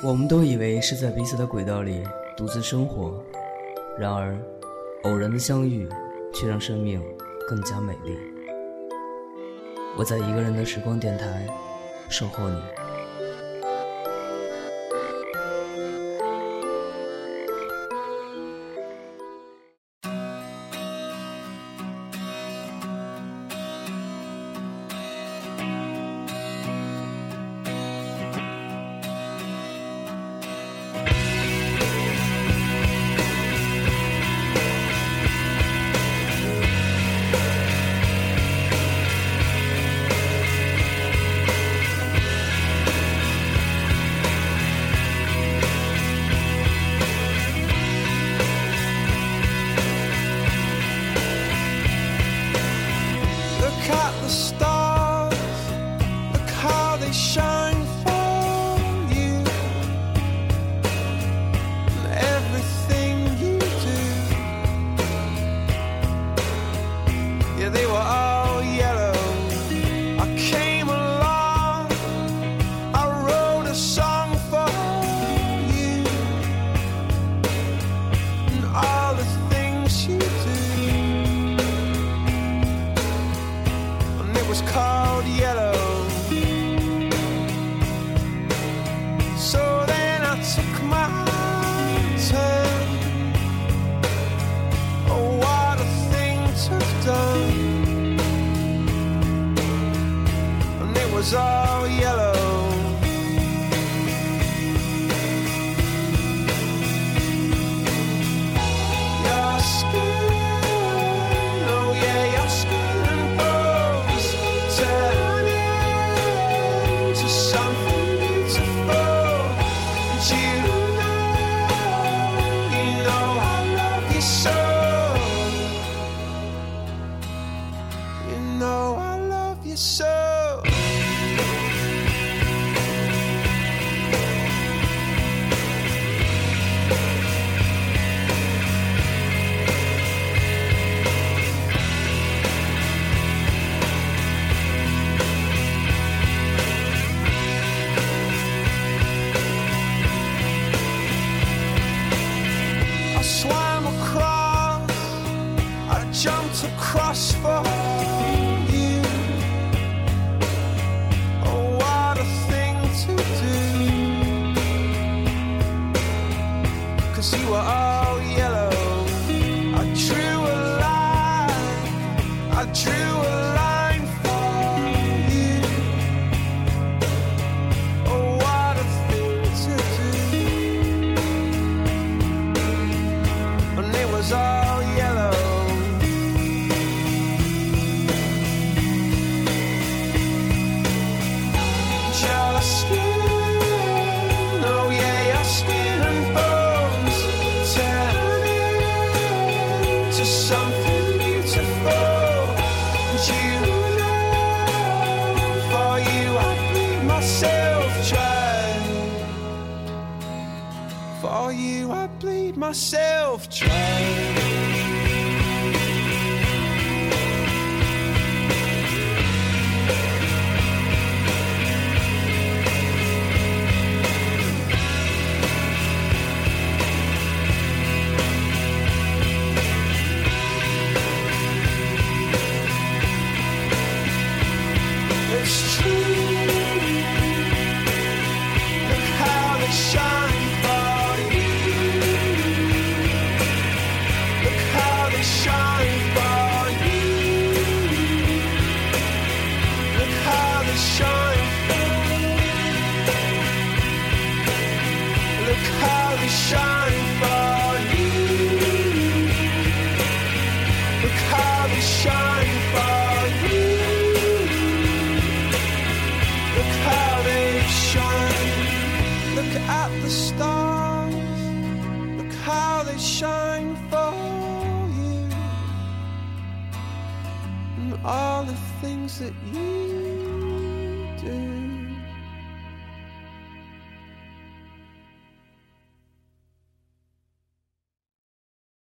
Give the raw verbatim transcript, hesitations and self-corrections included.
我们都以为是在彼此的轨道里独自生活，然而偶然的相遇却让生命更加美丽。我在一个人的时光电台守候你。 Was all yellow. Your skin, oh yeah, your skin and bones turn into something beautiful. And you know, you know I love you so. You know I love you so. Jumped across for you. Oh, what a thing to do. 'Cause you were all yellow. I drew a line, I drew a line for you. Oh, what a thing to do. And it was all yellow. Something beautiful, and you know, for you I bleed myself dry. For you I bleed myself dry. At the stars, look how they shine for you, and all the things that you do.